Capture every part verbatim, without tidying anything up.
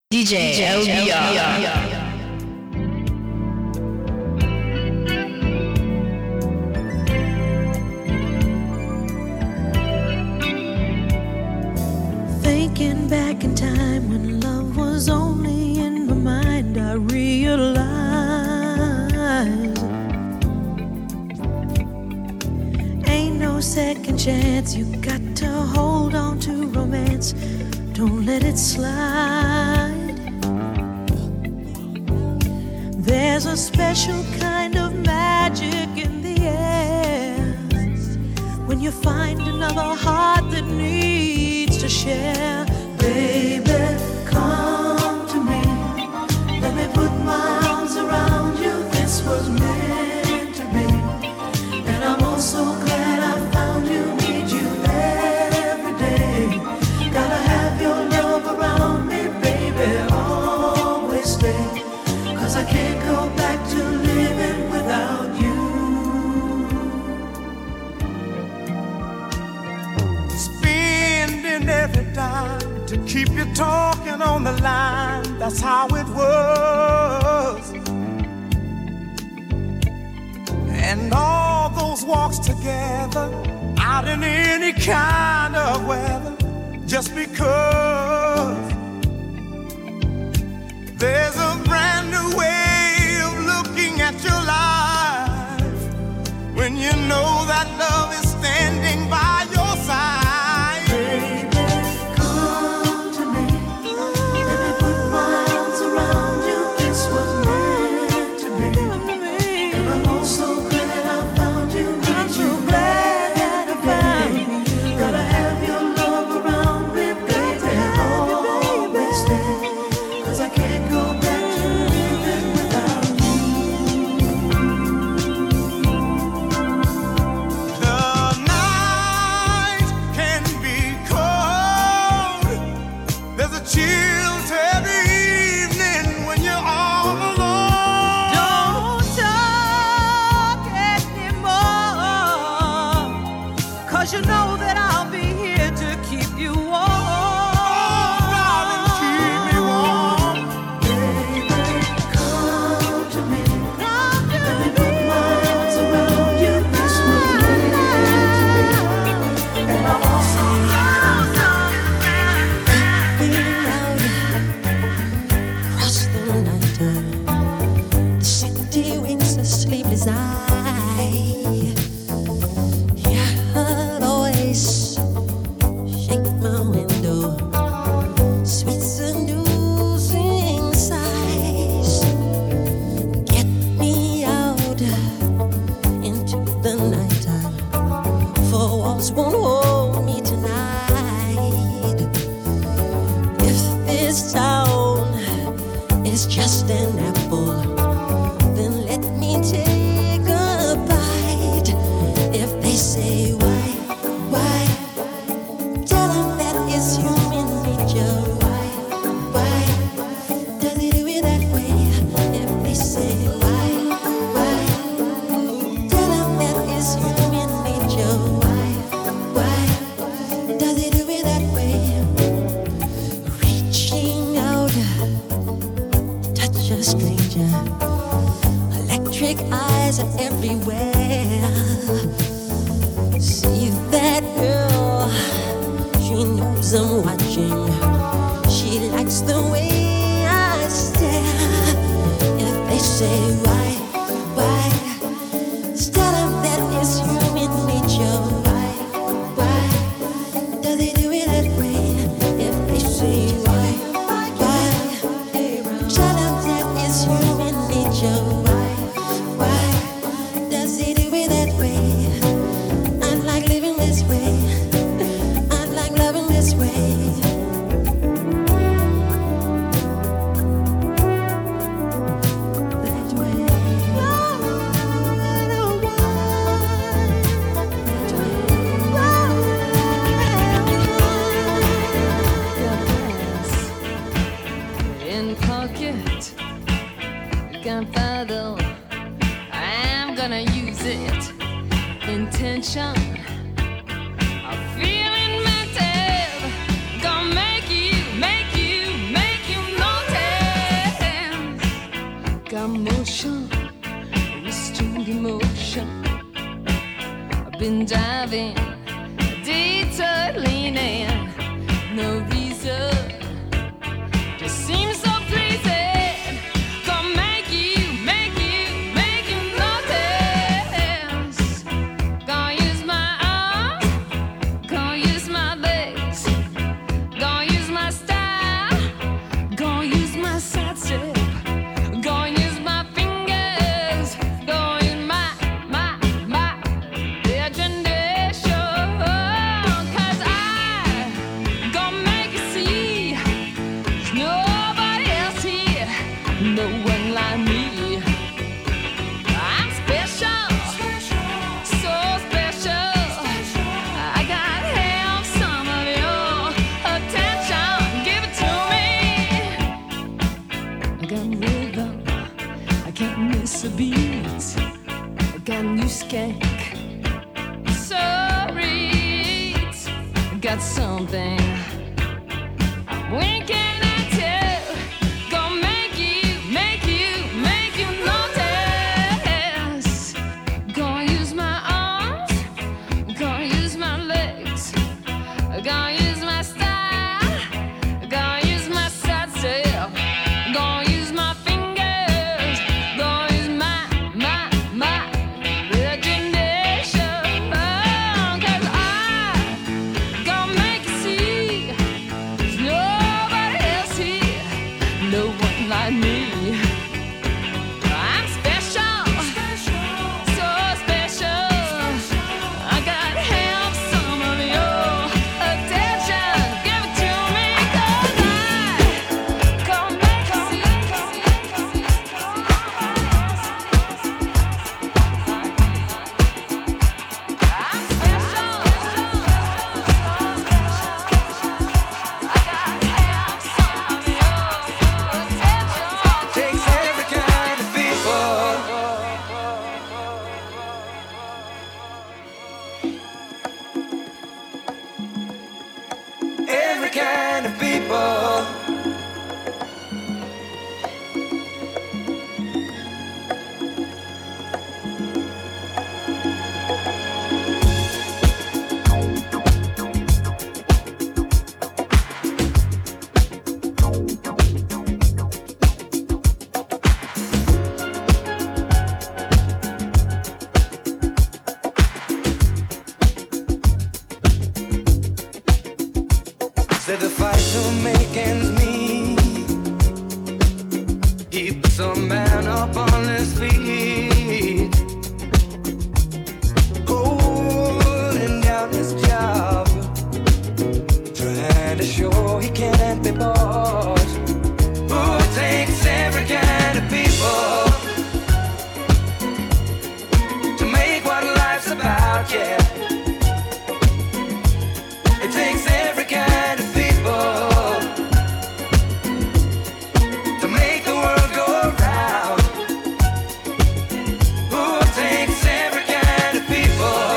D J L B R. Thinking back in time when love was only in my mind, I realized ain't no second chance. You got to hold on to romance, don't let it slide. There's a special kind of magic in the air when you find another heart that needs to share. Baby, come to me. Let me put my arms around you. This was meant to be. And I'm also glad I found you. Need you every day. Gotta have your love around me, baby. Always stay. Cause I can't go back to living without you. Every time to keep you talking on the line, that's how it was. And all those walks together, out in any kind of weather, just because there's a brand new way of looking at your life when you know that love is standing by your side. Intention, I'm feeling mental, gonna make you, make you, make you know been diving, detour leaning, no reason, just seems so pleasing. Gonna make you, make you, make you notice. Gonna use my arms, gonna use my legs, gonna use my style, gonna use my side step, gonna use my fingers, gonna use my, my, my imagination. 'Cause I gonna make you see there's nobody else here, no one like me. I'm special, so special. I gotta have some of your attention. Give it to me. I got rhythm, I can't miss a beat. I got new skank, sorry, I got something I'm winking at you. Gonna make you, make you, make you notice. Gonna use my arms, gonna use my legs, gonna use my style, gonna use my side step, gonna use my fingers, gonna use my, my, my imagination. 'Cause I gonna make you see there's nobody else here, no one like me. I'm special, so special. I gotta have some of your attention. Give it to me, 'cause I gonna make you see. I'm special, so Takes every kind of people. Every kind of people. Said the fight to make ends meet. Keep some man up on his feet. Holding down his job, trying to show he can't be bought. Ooh, it takes every kind of people to make what life's about, yeah. It takes every kind of people to make the world go round. Ooh, it takes every kind of people.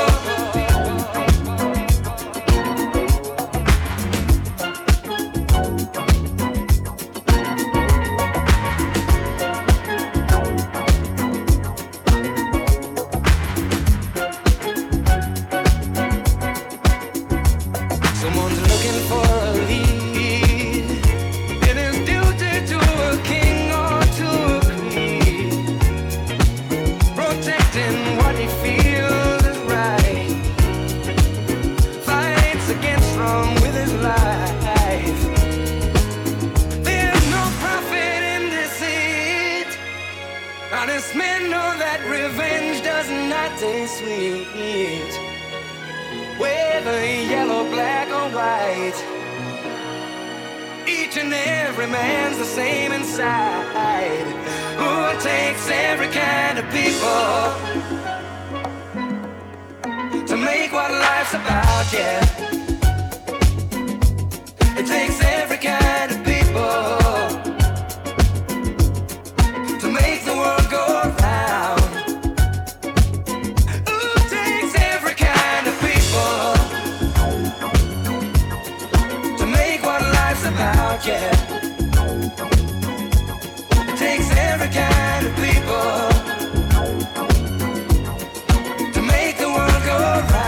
Someone's looking for a lead. It is duty to a king or to a queen, protecting what he feels is right. Fights against wrong with his life. There's no profit in deceit. Honest men know that revenge does not taste sweet. Whether yellow, black, or white, each and every man's the same inside. Ooh, it takes every kind of people to make what life's about, yeah. It takes every kind of people to make the world go round. Ooh, it takes every kind of people to make what life's about, yeah. It takes every kind of people to make the world go round.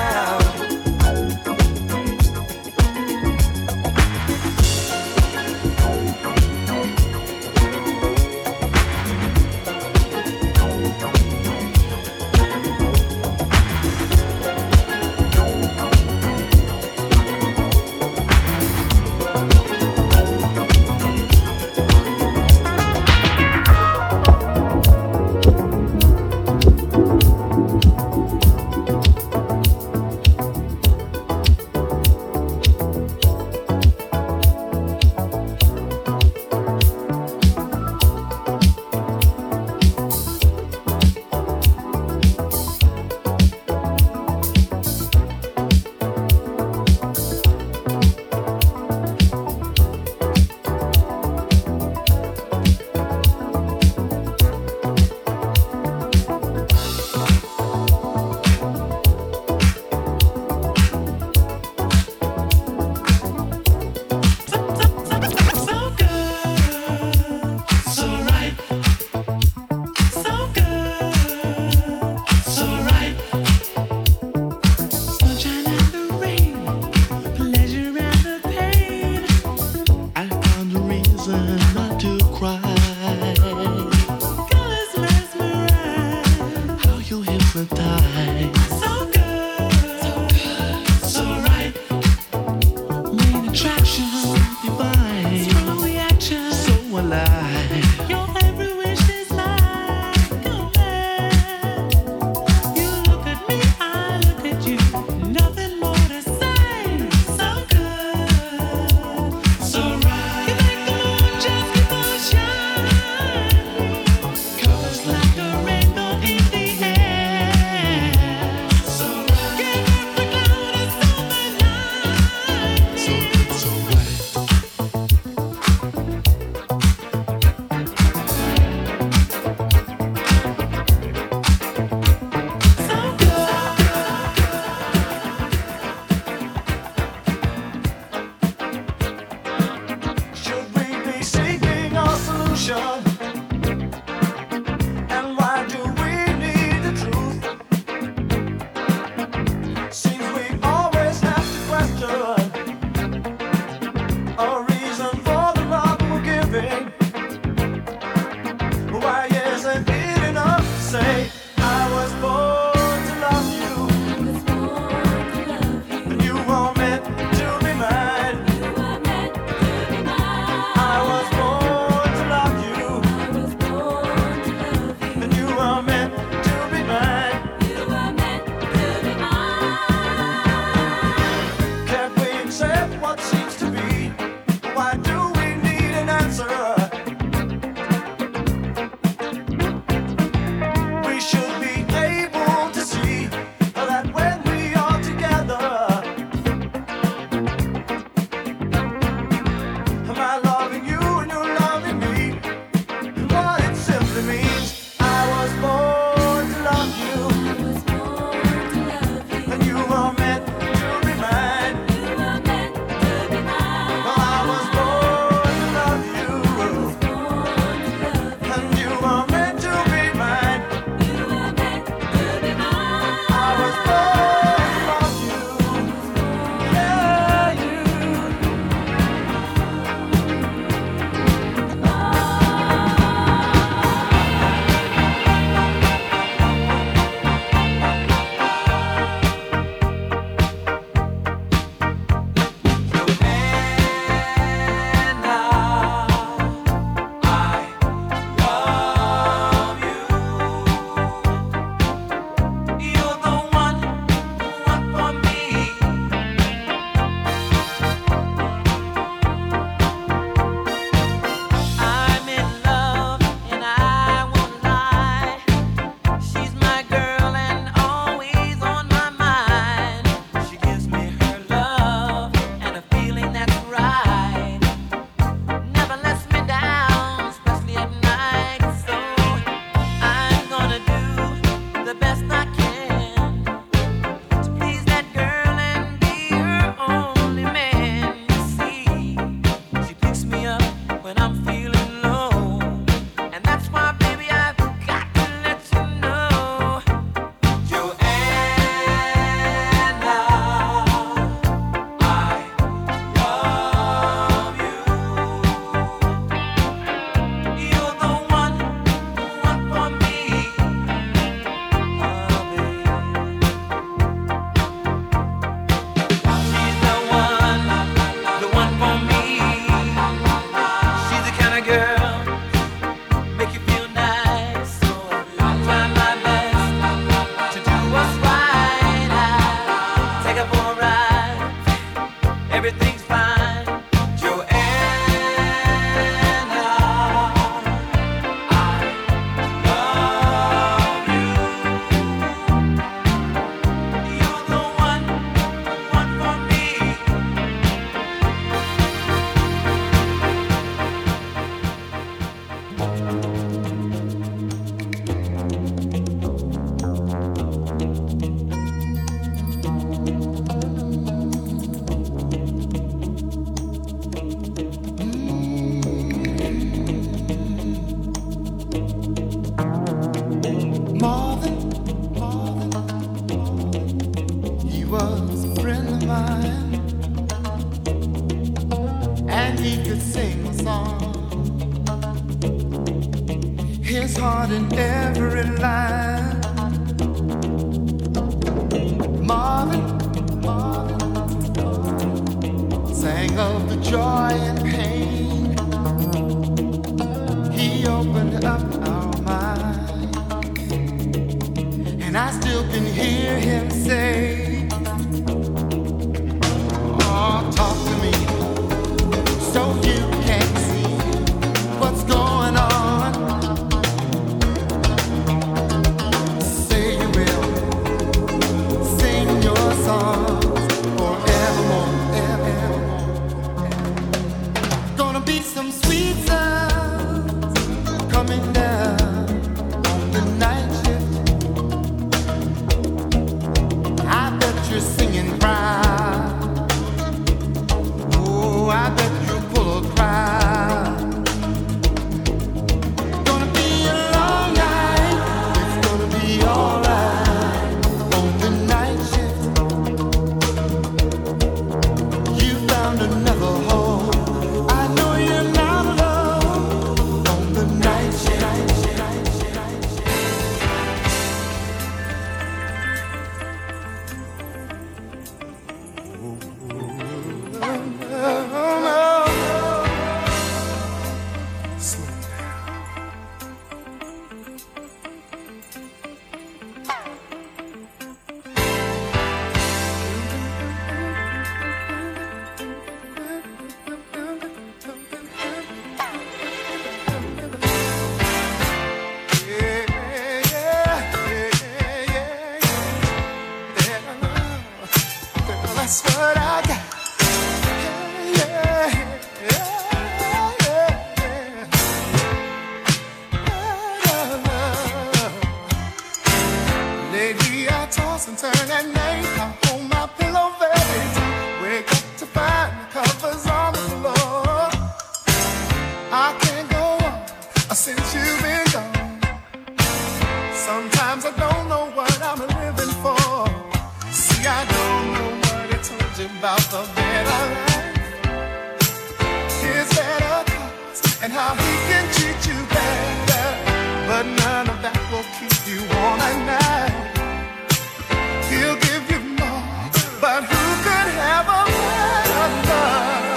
toss and turn at night. I hold my pillow very tight. Wake up to find the covers on the floor. I can't go on since you've been gone. Sometimes I don't know what I'm living for. See, I don't know what I told you about the better life. His better thoughts and how he can treat you better. But none of that will keep you warm at night. He'll give you more, but who could have a better love?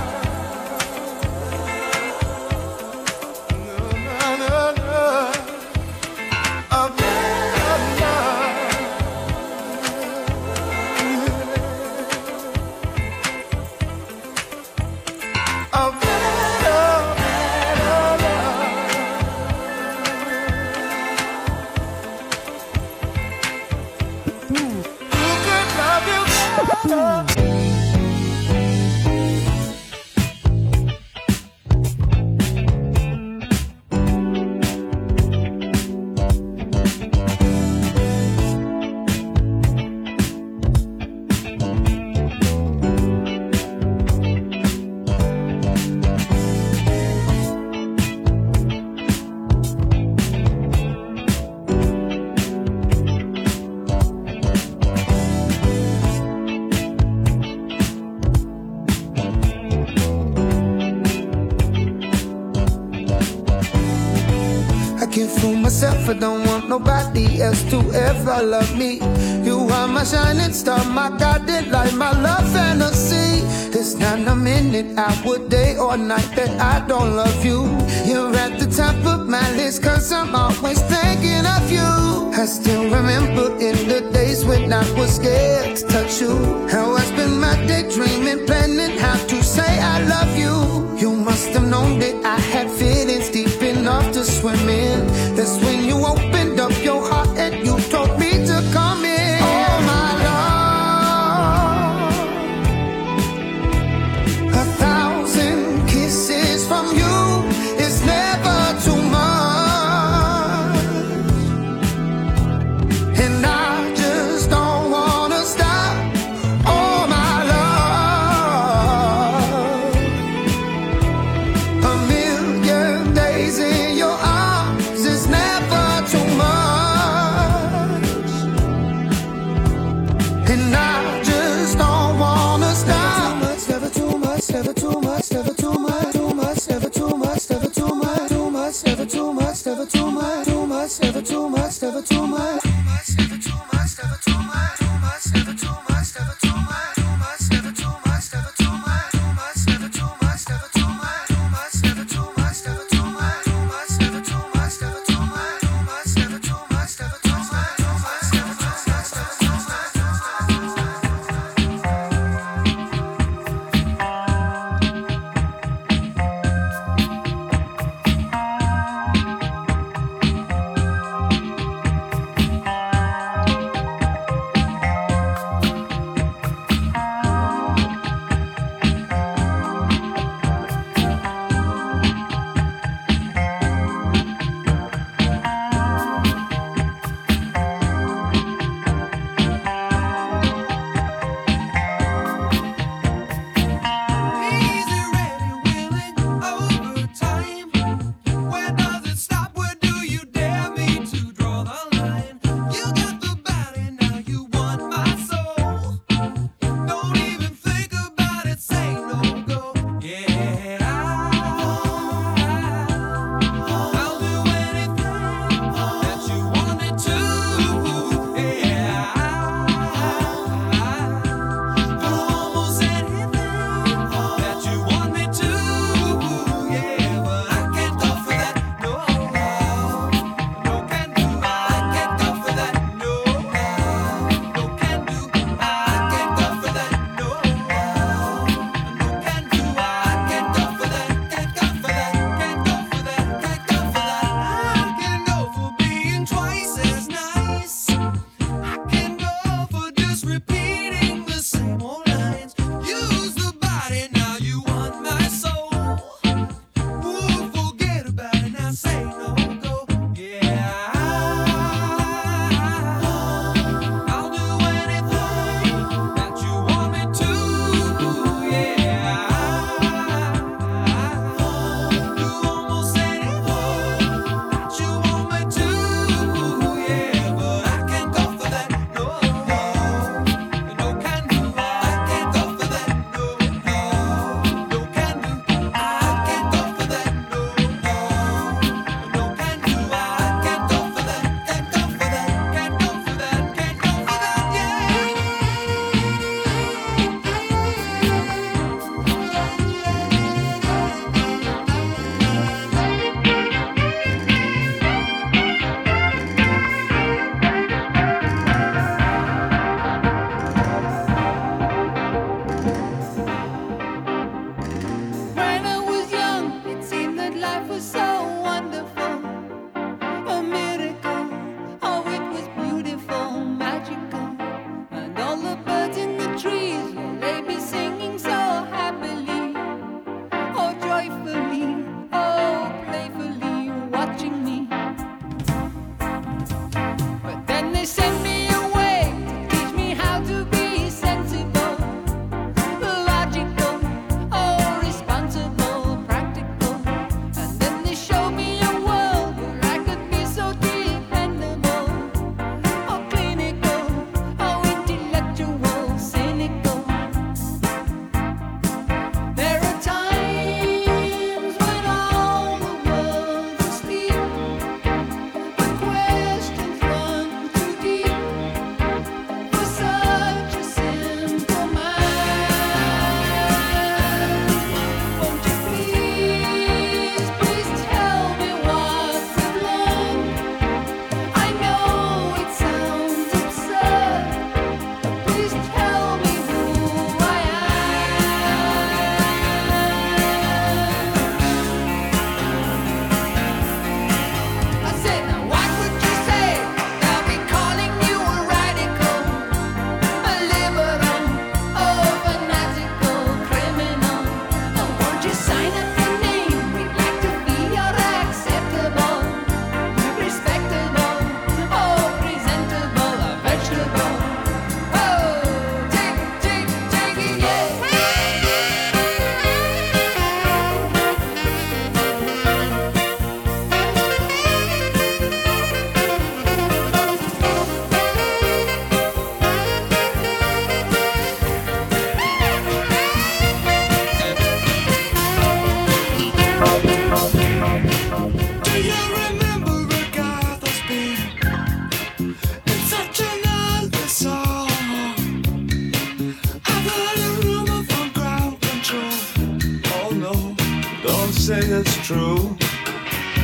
No, no, no, a better love. A better, better love. Who could love you better? I don't want nobody else to ever love me. You are my shining star, my guiding light, my love fantasy. There's not a minute, hour, day or night that I don't love you. You're at the top of my list, cause I'm always thinking of you. I still remember in the days when I was scared to touch you, how I spent my day dreaming, planning how to say I love you. You must have known that I had feelings deep enough to swim in. That's when you opened up your heart and you told me to come in. Oh my love, a thousand kisses from you is never too much, and I just don't wanna stop. Oh my love, a million days in your arms is never too much, and I just don't wanna stop. Never too much, never too much, never too much, too much, never too much, never too much, too much, never too much, never too much, too much, never too much, never too much, too much, never too much, never too much, too much, never too much, never too much, too much, never too much, never too much, too much, never too much, never too much, too much, never too much, never too much, too much, never too much, never too much, too much, never too much, never too much, too much, never too much.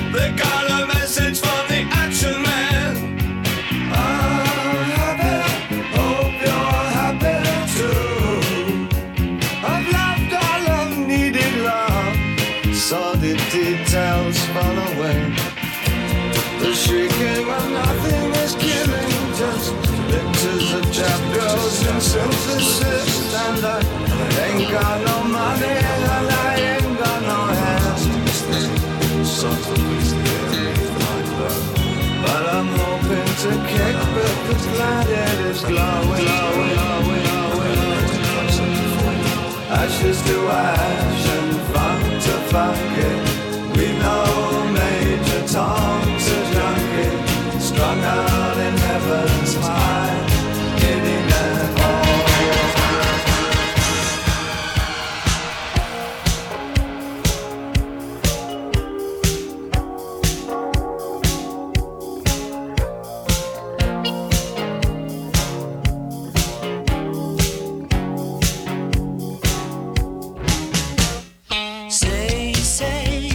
They got a message from the action man. I'm happy, hope you're happy too. I've loved all I've needed love, saw the details fall away. The shrieking of nothing is killing, just pictures of trap girls and synthesis. And I ain't got no money and I ain't got no hands, but I'm hoping to kick but the planet is glowing, glowing, glowing, glowing. Ashes to ash and funk to funk it. We know Major Tom's a junkie, strung out in heaven's high, hitting an all. Say, say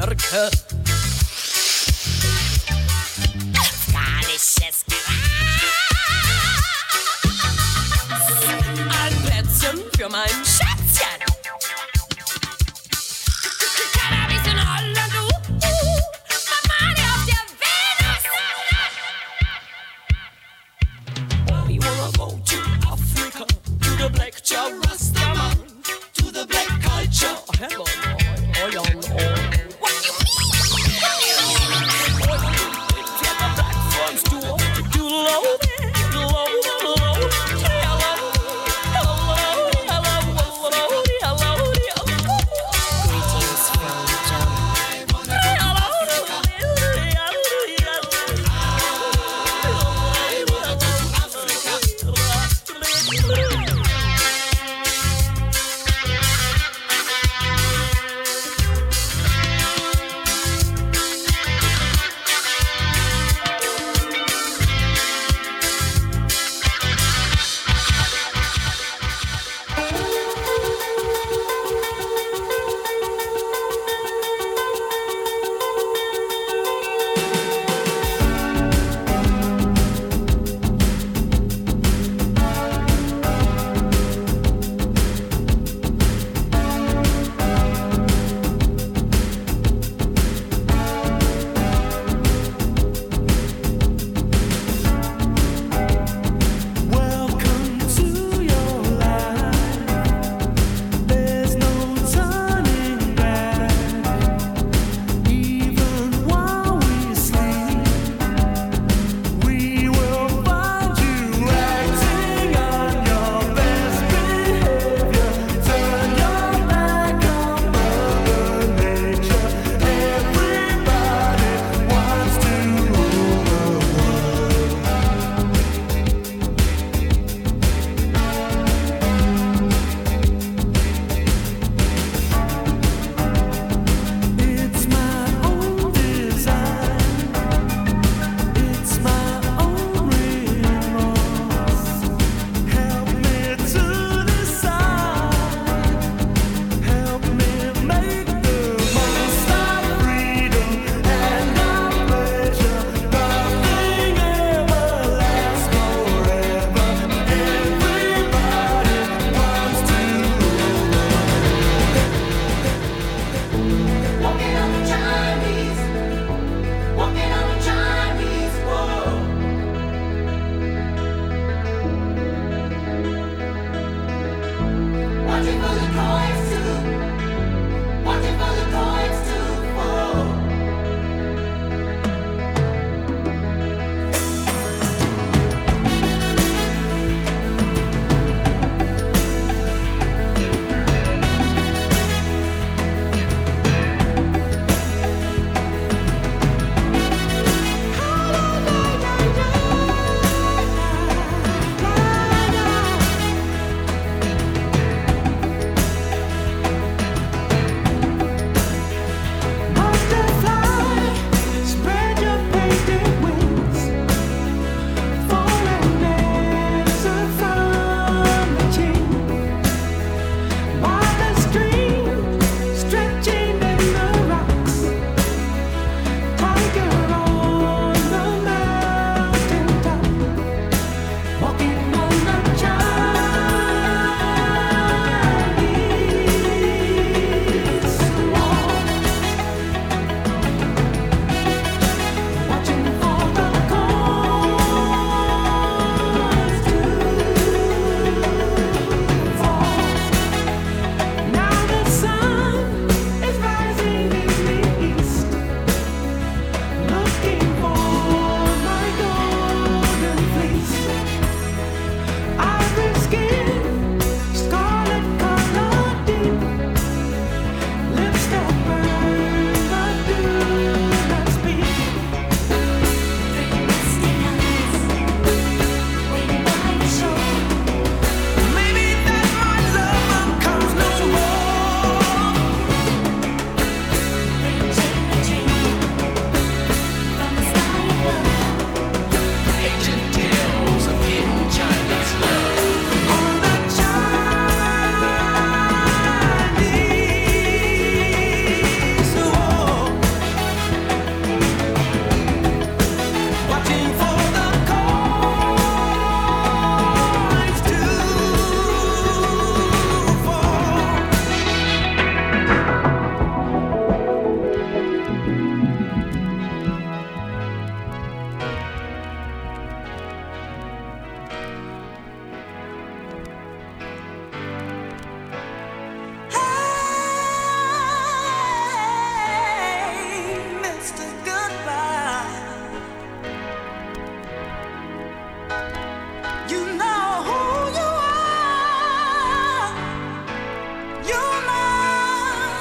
Amerika. Afghanisches Gras. Ein Plätzchen für mein Schätzchen. Cannabis in Holland, uh, uh, Mamani auf der Venus. We wanna go to Africa, to the black Jah Rastaman, to the black culture. Heaven, oh, oh, oh, oh. What you mean?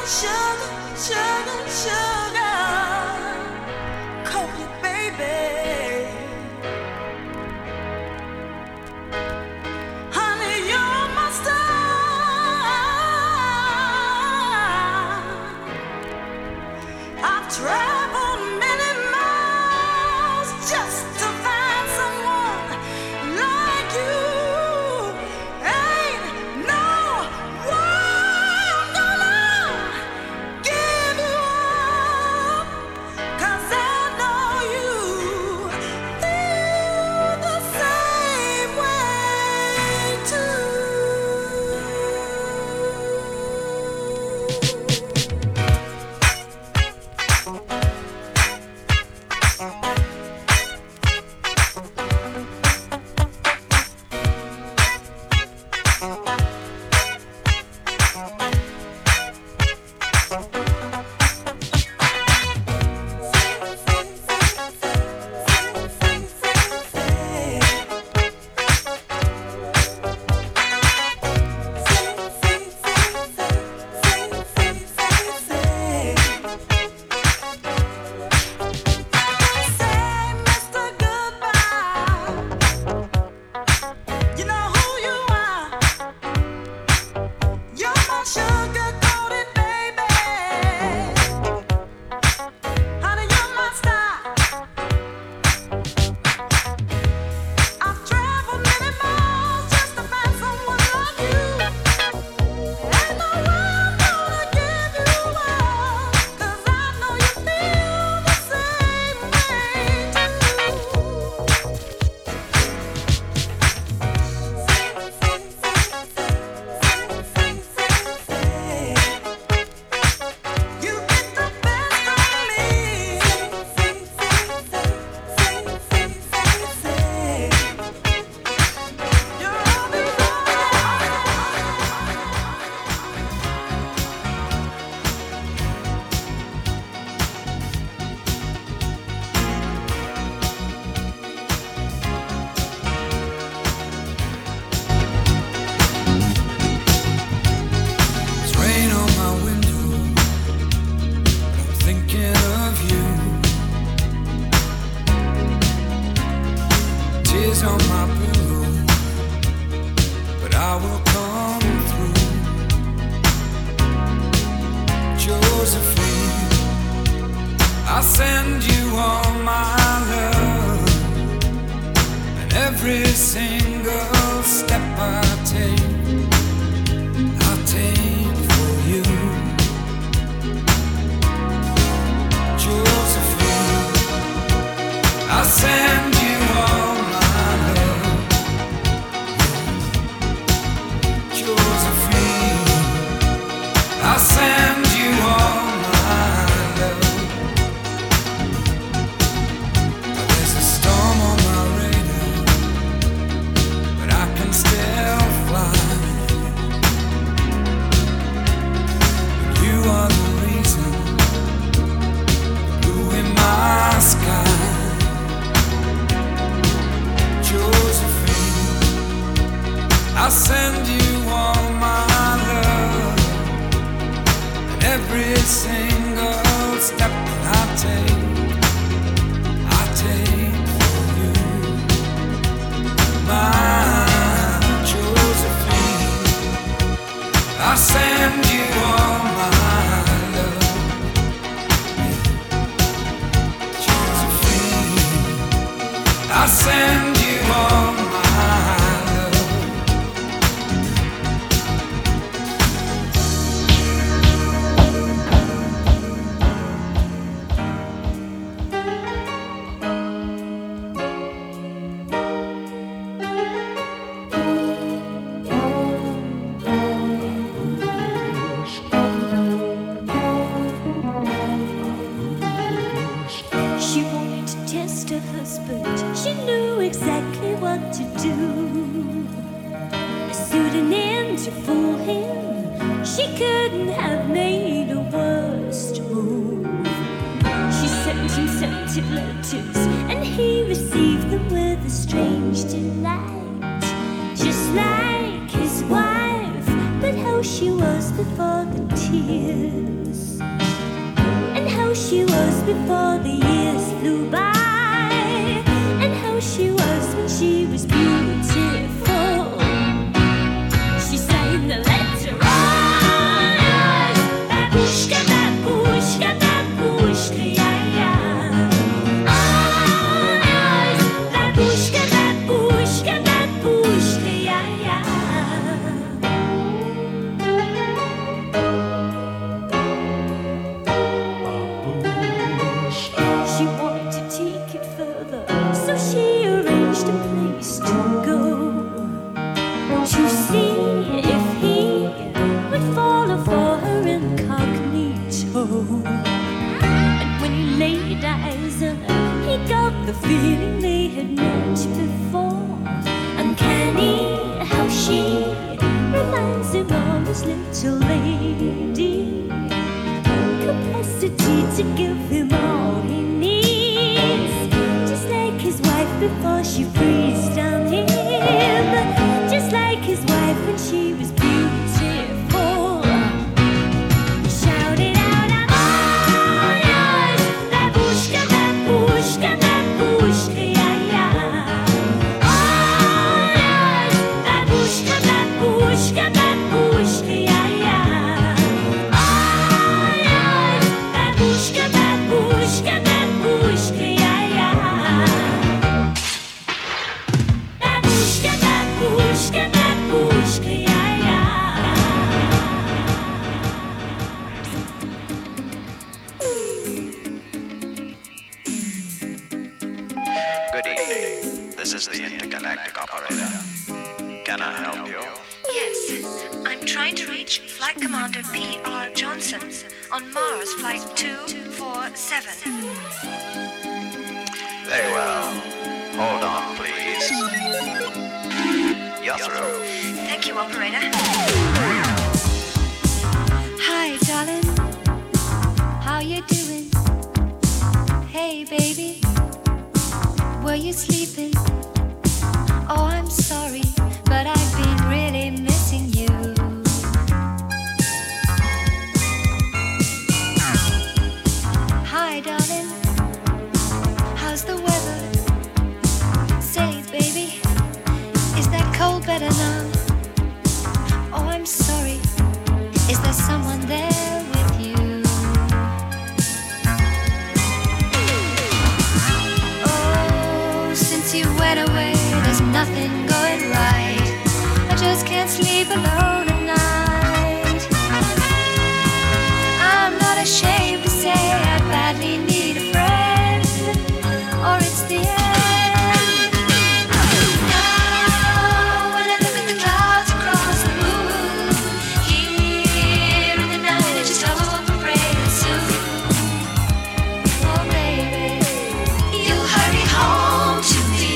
letters, and he received them with a strange delight, just like his wife, but how she was before the tears. before the years flew by, and how she was when she was beautiful. She sang the letter on, babushka, babushka, babushka, yeah, yeah. On, babushka, babushka, babushka, yeah, yeah. She wanted to take it further, so she arranged a place to go, to see if he would follow for her incognito. And when he laid eyes on her, he got the feeling they had met before. Uncanny how she reminds him of his little lady, capacity to give him all he needs, just like his wife before she breathed on him, just like his wife when she was beautiful. He shouted out, I'm all yours, babushka, babushka, babushka, yeah, yeah. All yours, babushka, babushka, babushka, yeah, yeah. All yours, babushka, babushka, babushka, yeah, yeah. Babushka, babushka, babushka, yeah, yeah. Good evening. This is the intergalactic operator. Can I help you? Yes, I'm trying to reach Flight Commander P R Johnson on Mars Flight two four seven. Very well. Hold on, please. You're through. Thank you, operator. Hi, darling. How you doing? Hey, baby. Were you sleeping? Oh, I'm sorry, but I've been really missing you. Hi, darling. How's the weather? Say, baby, is that cold better now? Oh, I'm sorry. Is there someone there with you? Oh, since you went away, there's nothing going right. I just can't sleep alone at night. I'm not ashamed to say I badly need a friend, or it's the end. Now when I look at the clouds across the moon, here in the night I just hope and pray that soon, oh baby, you'll hurry home to me.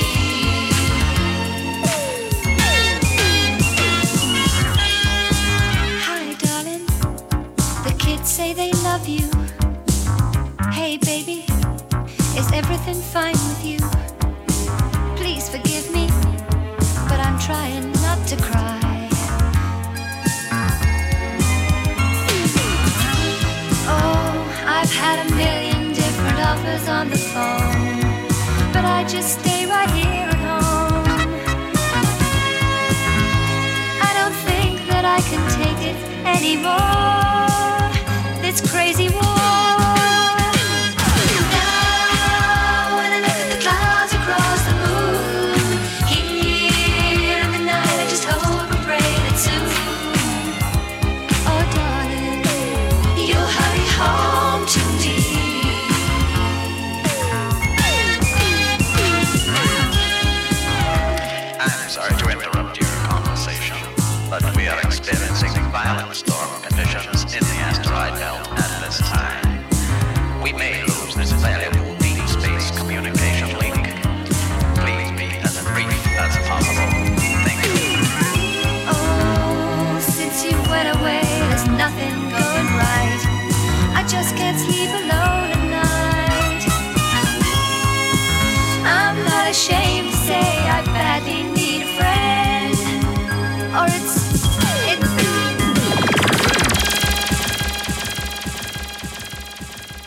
Hi, darling. The kids say they love you. Hey, baby, is everything fine with you? Please forgive me, but I'm trying not to cry. Oh, I've had a million different offers on the phone, but I just stay right here at home. I don't think that I can take it anymore, this crazy war. Now when I look at the clouds across the moon, here in the night I just hope and pray that soon, oh darling, you'll hurry home to me. I'm sorry to interrupt your conversation, but we are experiencing violent storm conditions in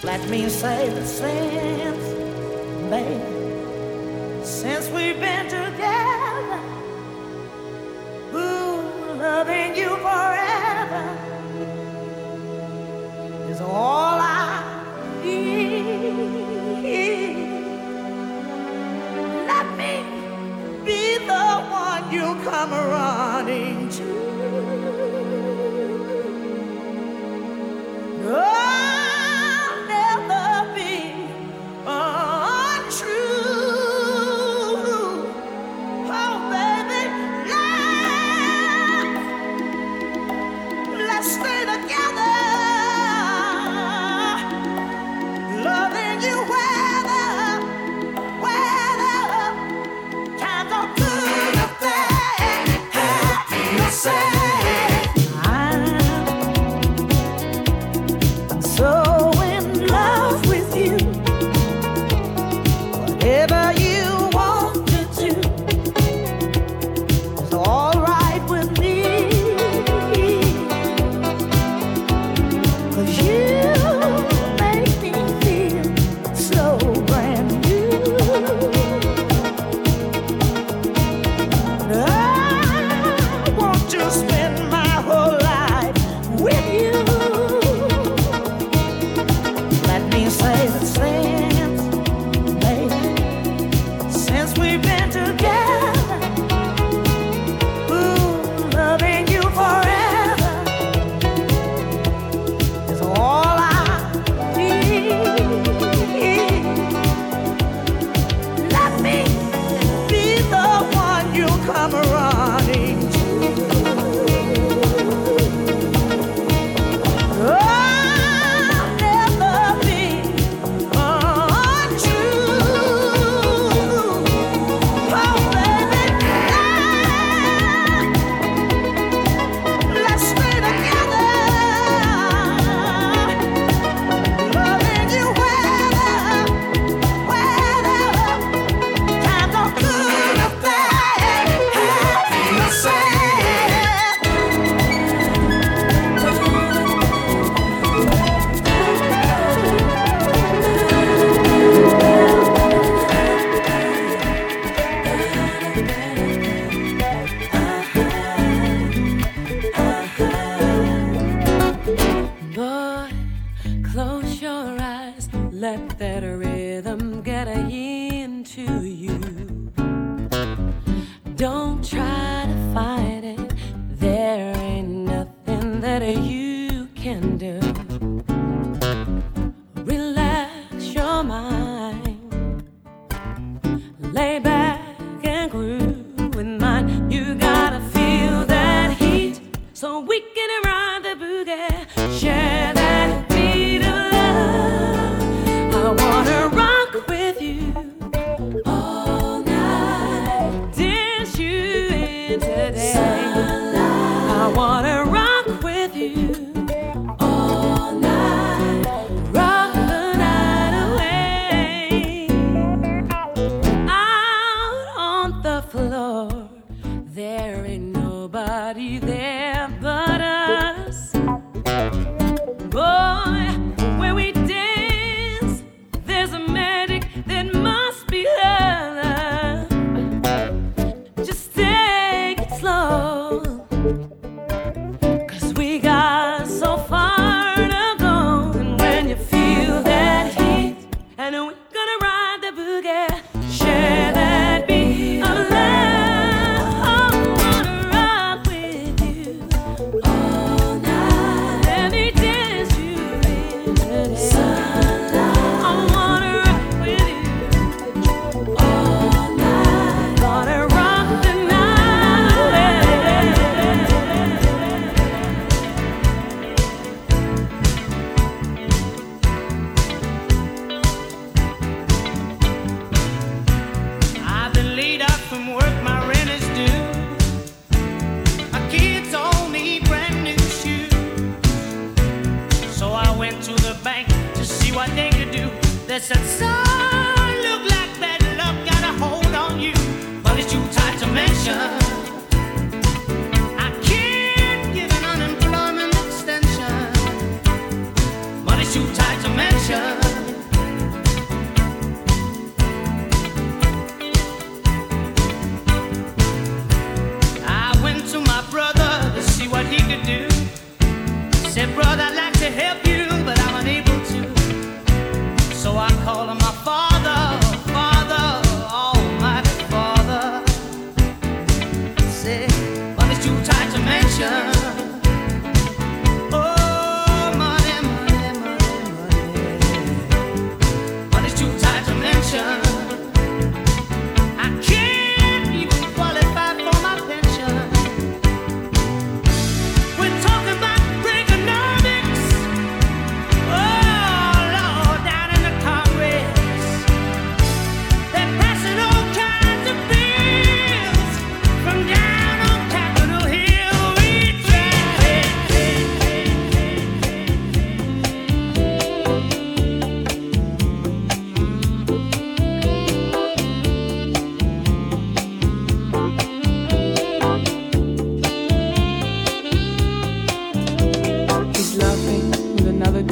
Let me say the since, baby, since we've been together, ooh, loving you forever is all I need. Let me be the one you come running to. I'll never be untrue. Oh, baby, let's, let's stay together, loving you weather, weather. Times are good or bad, happy or sad. Whatever you want to do is all right with me, 'cause you make me feel so brand new. I want to spend my whole life with you. Let me say the same. We've been together, ooh, loving you forever is all I need. Let me be the one you come running to. I'll never be They said, son, look like bad luck got a hold on you, but it's too tight to mention. I can't give an unemployment extension, but it's too tight to mention.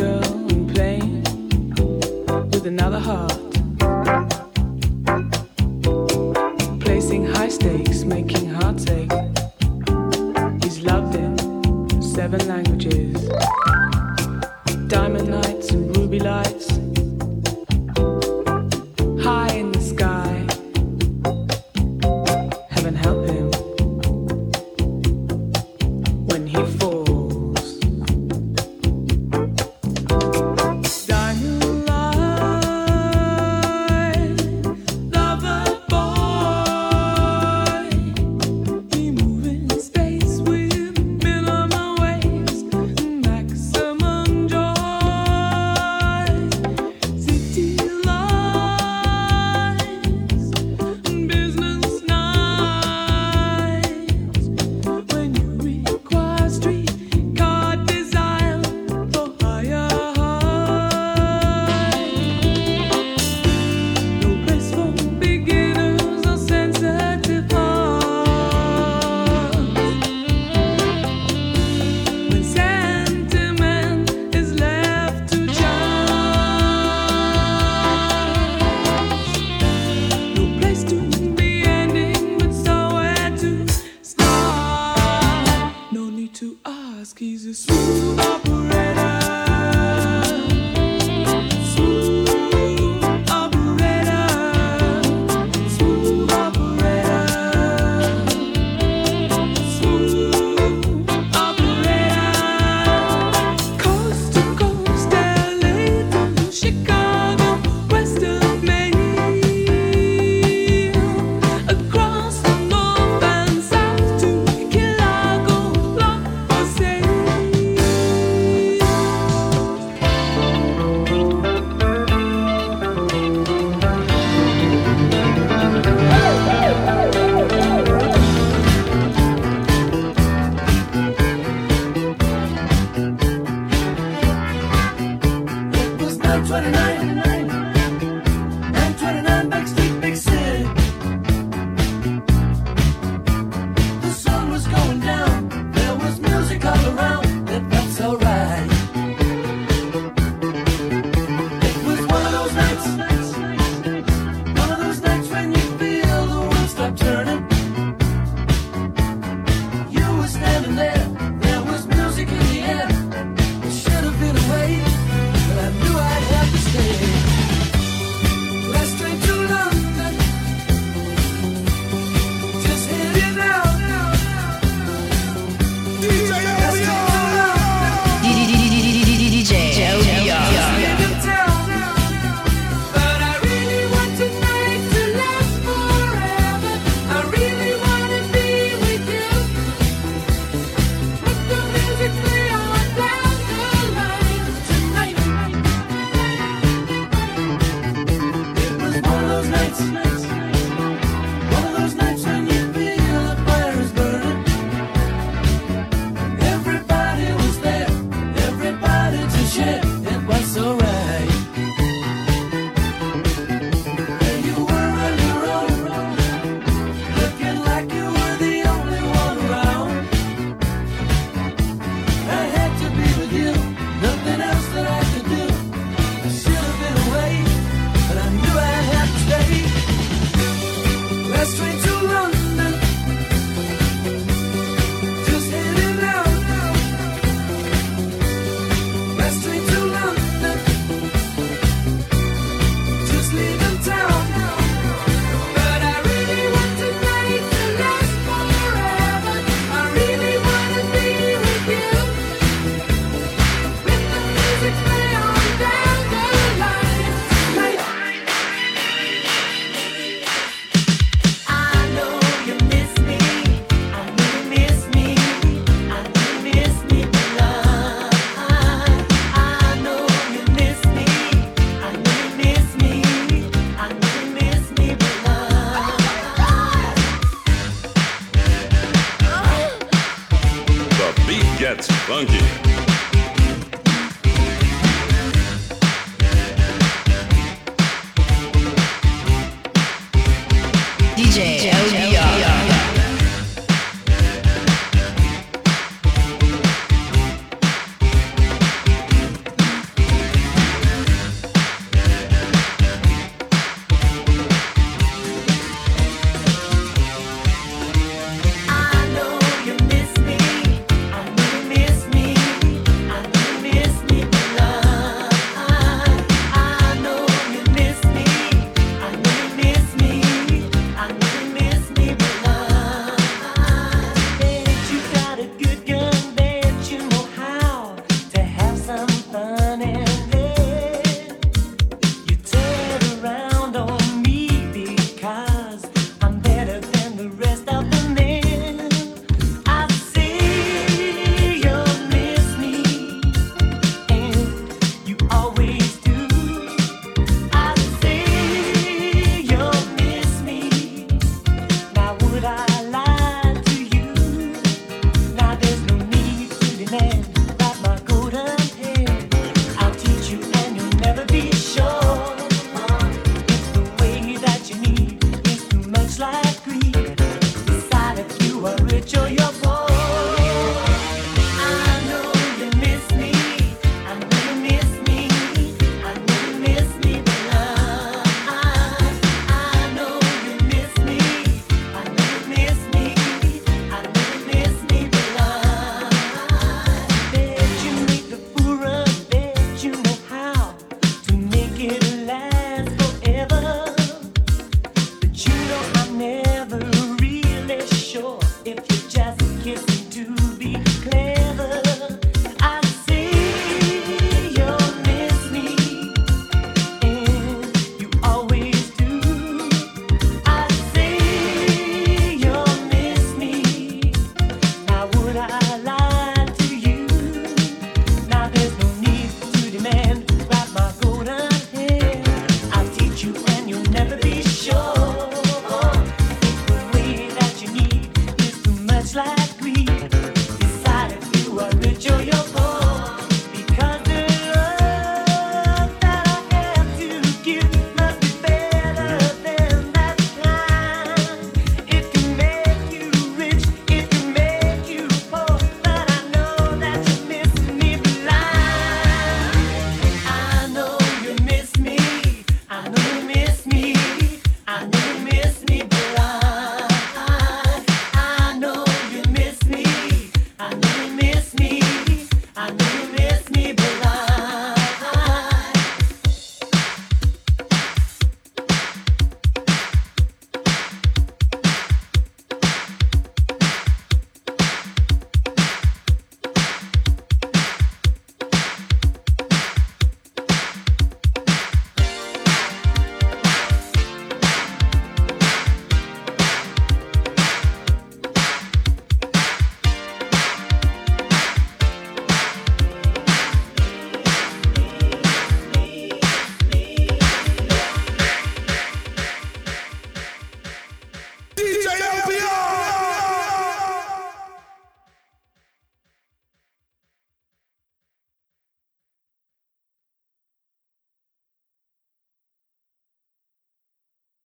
girl and playing with another heart. Placing high stakes, making hearts ache. He's loved in seven languages. Diamond nights and ruby lights. High in the sky. Heaven help him when he falls. Diamond light, lover boy. We move in space with minimum waves, maximum joy. City lights, business nights. When you require streetcar desire for higher heights. No place for beginners or sensitive hearts. When sentiment is left to chance. No place to be ending, but somewhere to start. No need to ask, he's a smooth operator. Smooth operator. Smooth operator. Smooth operator. Coast to coast, L A to Chicago, west of Maine. Across the north and south to Chicago, long for sale. It was nine twenty-nine.